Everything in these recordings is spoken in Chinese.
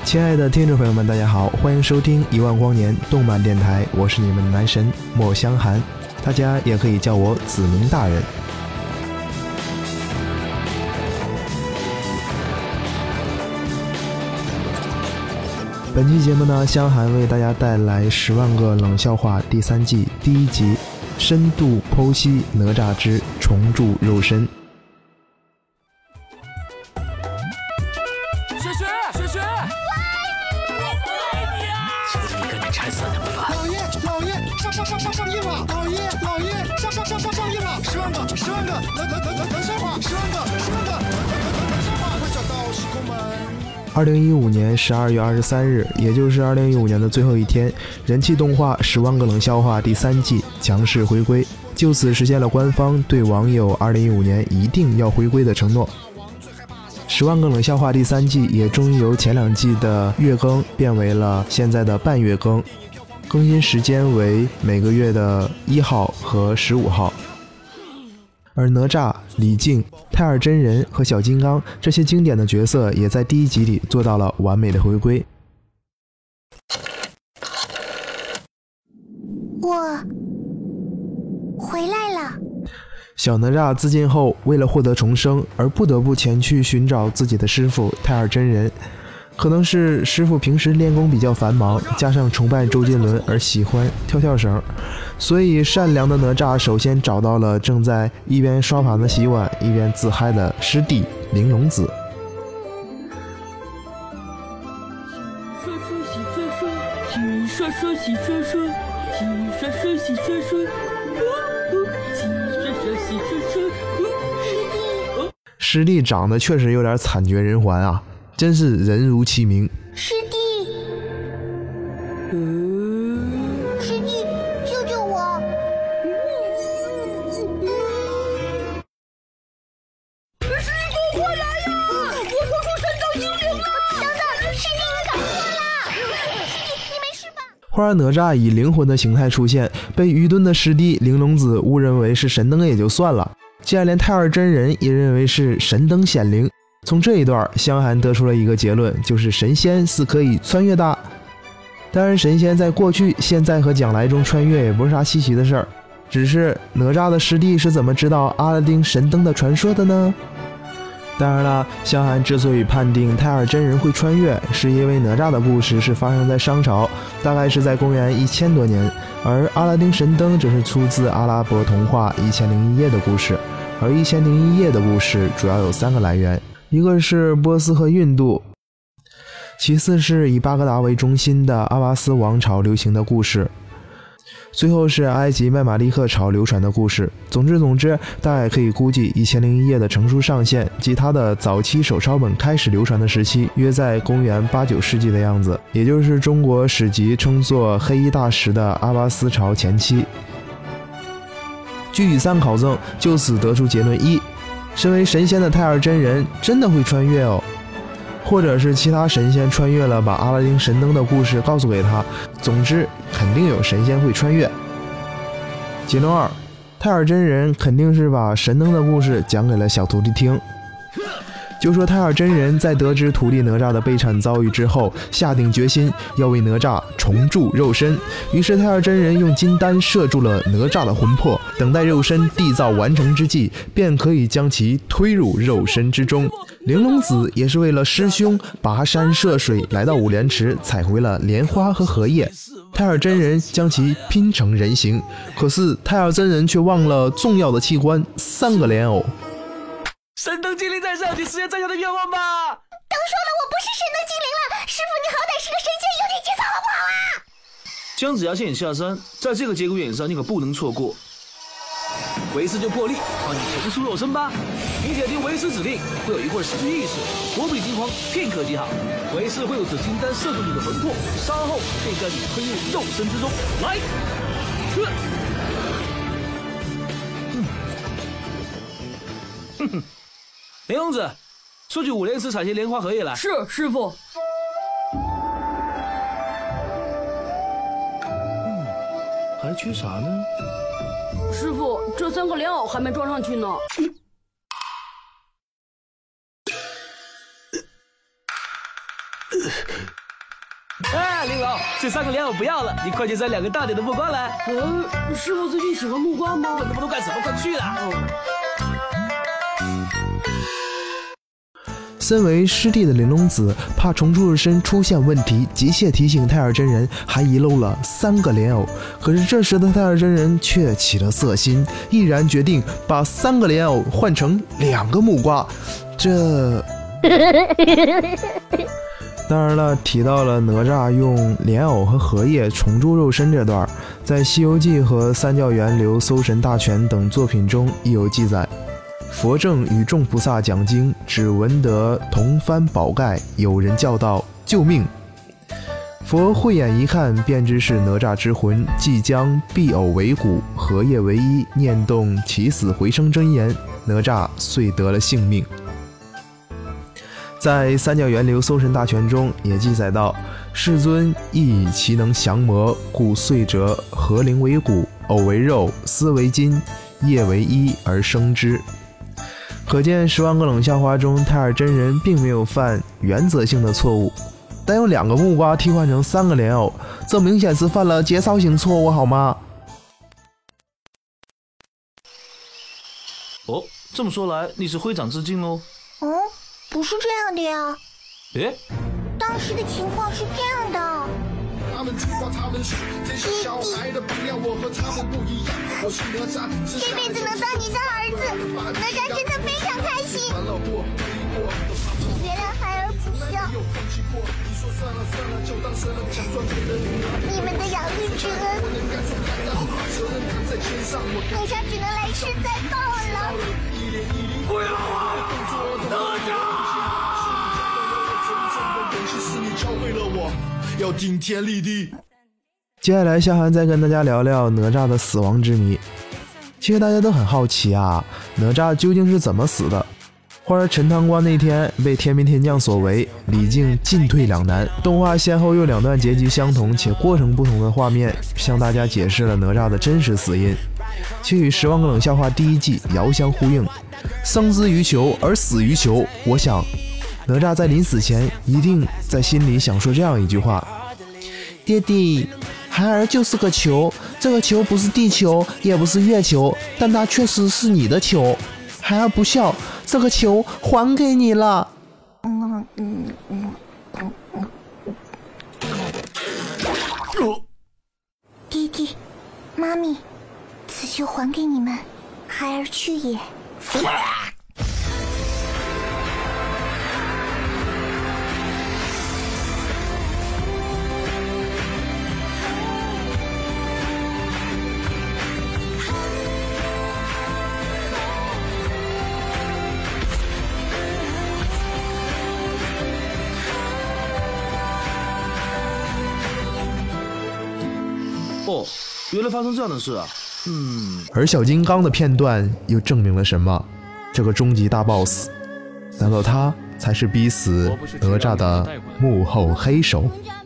亲爱的听众朋友们，大家好，欢迎收听一万光年动漫电台，我是你们的男神莫香寒，大家也可以叫我子明大人。本期节目呢，香寒为大家带来《10万个冷笑话》第3季第1集，深度剖析哪吒之重铸肉身。 雪雪，我爱你啊！ 求求你赶紧拆散他们吧！ 老爷，上映了！老爷，上映了！10万个冷笑话，10万个冷笑话，快找到时空门。 2015年12月23日，也就是2015年的最后一天，人气动画《10万个冷笑话》第3季强势回归，就此实现了官方对网友2015年一定要回归的承诺。10万个冷笑话第3季也终于由前2季的月更变为了现在的半月更，更新时间为每个月的1号和15号。而哪吒、李靖、太尔真人和小金刚这些经典的角色也在第1集里做到了完美的回归。 我回来了。 小哪吒自尽后，为了获得重生而不得不前去寻找自己的师父太尔真人。可能是师父平时练功比较繁忙，加上崇拜周杰伦而喜欢跳绳，所以善良的哪吒首先找到了正在一边刷盘子洗碗一边自嗨的师弟玲珑子。师弟长得确实有点惨绝人寰啊，真是人如其名。 师弟，师弟，救救我！ 师弟，给我过来呀！我说出神道精灵了！ 等，师弟，你搞错了！师弟，你没事吧？ 忽然哪吒以灵魂的形态出现，被愚钝的师弟玲珑子误认为是神灯也就算了，竟然连太尔真人也认为是神灯显灵。从这一段，香寒得出了一个结论，就是神仙是可以穿越的。当然，神仙在过去、现在和将来中穿越也不是啥稀奇的事儿，只是哪吒的师弟是怎么知道阿拉丁神灯的传说的呢？当然了，香寒之所以判定太尔真人会穿越，是因为哪吒的故事是发生在商朝，大概是在公元1000多年，而阿拉丁神灯则是出自阿拉伯童话《1001夜》的故事。而《1001夜》的故事主要有3个来源，一个是波斯和印度，其次是以巴格达为中心的阿巴斯王朝流行的故事，最后是埃及麦马利克朝流传的故事。总之，大概可以估计《1001夜》的成书上限及它的早期手抄本开始流传的时期，约在公元8、9世纪的样子，也就是中国史籍称作黑衣大食的阿巴斯朝前期。据以3考证，就此得出结论：1，身为神仙的太尔真人真的会穿越哦，或者是其他神仙穿越了，把阿拉丁神灯的故事告诉给他。总之，肯定有神仙会穿越。结论2，太尔真人肯定是把神灯的故事讲给了小徒弟听。就说太尔真人在得知徒弟哪吒的悲惨遭遇之后，下定决心要为哪吒重铸肉身。于是太尔真人用金丹摄住了哪吒的魂魄，等待肉身缔造完成之际，便可以将其推入肉身之中。玲珑子也是为了师兄跋山涉水来到五莲池，采回了莲花和荷叶。太尔真人将其拼成人形，可是太尔真人却忘了重要的器官3个莲藕。 神灯精灵在上，请实现在下的愿望吧！ 都说了我不是神灯精灵了，师傅你好歹是个神仙，有点节操好不好啊？ 姜子牙现下山，在这个节骨眼上你可不能错过。为师就破例帮你重塑肉身吧，你且听为师指令，会有一会儿失去意识，躲避惊慌，片刻即好。为师会有此金丹摄住你的魂魄，稍后便将你推入肉身之中。来，玲珑子，出去五莲池采些莲花荷叶来。 是，师傅。 还缺啥呢？ 师傅，这3个莲藕还没装上去呢。 宝，这3个莲藕不要了，你快去摘2个大点的木瓜来。 师傅最近喜欢木瓜吗？ 问那么多干什么？快去啦！ 身为师弟的玲珑子怕重铸身出现问题，急切提醒太尔真人还遗漏了3个莲藕。可是这时的太尔真人却起了色心，毅然决定把3个莲藕换成2个木瓜。这当然了，提到了哪吒用莲藕和荷叶重铸肉身这段，在《西游记》和《三教源流搜神大全》等作品中亦有记载。佛正与众菩萨讲经，只闻得铜幡宝盖，有人叫道：“救命！”佛慧眼一看，便知是哪吒之魂，即将碧藕为骨，荷叶为衣，念动起死回生真言，哪吒遂得了性命。在《三教源流搜神大全》中也记载到，世尊亦以其能降魔，故遂折荷灵为骨，藕为肉，丝为金，叶为衣而生之。可见10万个冷笑话中，太尔真人并没有犯原则性的错误，但用2个木瓜替换成3个莲藕，这明显是犯了节操性错误，好吗？ 哦，这么说来，你是会长致敬喽？ 不是这样的呀。 诶， 当时的情况是这样的。 他们知道他们是这些小孩的不要我和他们不一样，我是哪吒， 这辈子能当你的儿子，哪吒真的非常开心。请原谅孩儿不孝，你们的养育之恩，哪吒只能来世再报了。 不要啊，哪吒！ 要顶天立地。 接下来，夏涵再跟大家聊聊哪吒的死亡之谜。其实大家都很好奇啊，哪吒究竟是怎么死的？花儿陈塘关那天被天兵天将所围，李靖进退两难。动画先后用2段结局相同且过程不同的画面，向大家解释了哪吒的真实死因，却与《10万个冷笑话》第1季遥相呼应。生之于球而死于球，我想哪吒在临死前一定在心里想说这样一句话：爹地，孩儿就是个球，这个球不是地球，也不是月球，但它确实是你的球。孩儿不孝，这个球还给你了。 爹地，妈咪，此球还给你们，孩儿去也。 哦，原来发生这样的事啊！ 而小金刚的片段又证明了什么？这个终极大 boss， 难道他才是逼死哪吒的幕后黑手？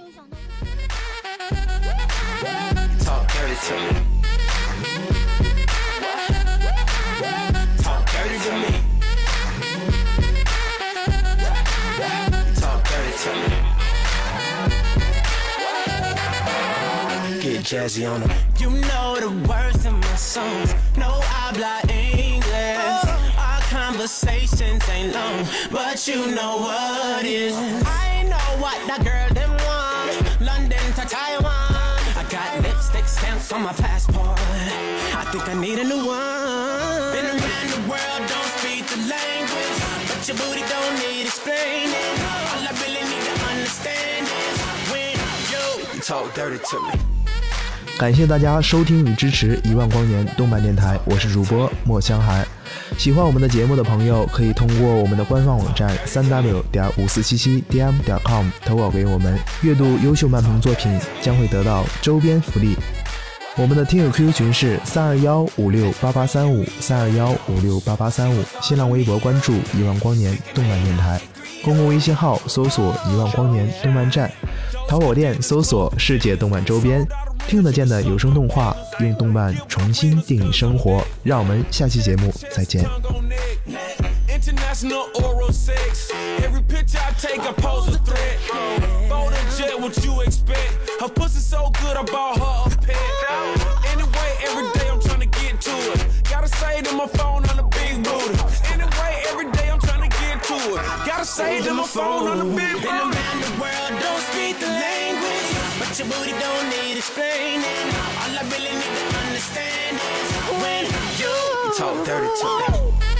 Jazzy on them. You know the words in my songs. No habla English. Our conversations ain't long, but you know what is. I know what that girl them want. London to Taiwan. I got lipstick stamps on my passport. I think I need a new one. Been around the world, don't speak the language, but your booty don't need explaining. All I really need to understand is when you talk dirty to me. 感谢大家收听与支持1万光年动漫电台，我是主播莫香寒。喜欢我们的节目的朋友，可以通过我们的官方网站3w.5477dm.com 投稿给我们。阅读优秀漫评作品将会得到周边福利。我们的听友 QQ 群是321568835 321568835，新浪微博关注1万光年动漫电台，公共微信号搜索1万光年动漫站，淘宝店搜索世界动漫周边，听得见的有声动画，用动漫重新定义生活。让我们下期节目再见。 That's no oral sex. Every picture I take, I pose a threat. Bold and jet, what you expect? Her pussy so good, I bought her a pet. Anyway, every day I'm trying to get to it. Gotta say to my phone on the big booty. Anyway, every day I'm trying to get to it. Gotta say to my phone on the big booty. Been around the world, don't speak the language, but your booty don't need explaining. All I really need to understand is when you talk dirty to me.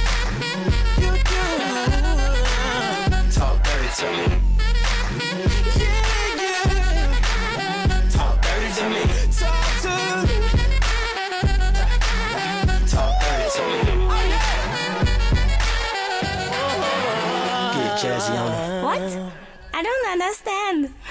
Talk dirty to me. Talk dirty to me. Talk dirty to me. Get jazzy on it. What? I don't understand.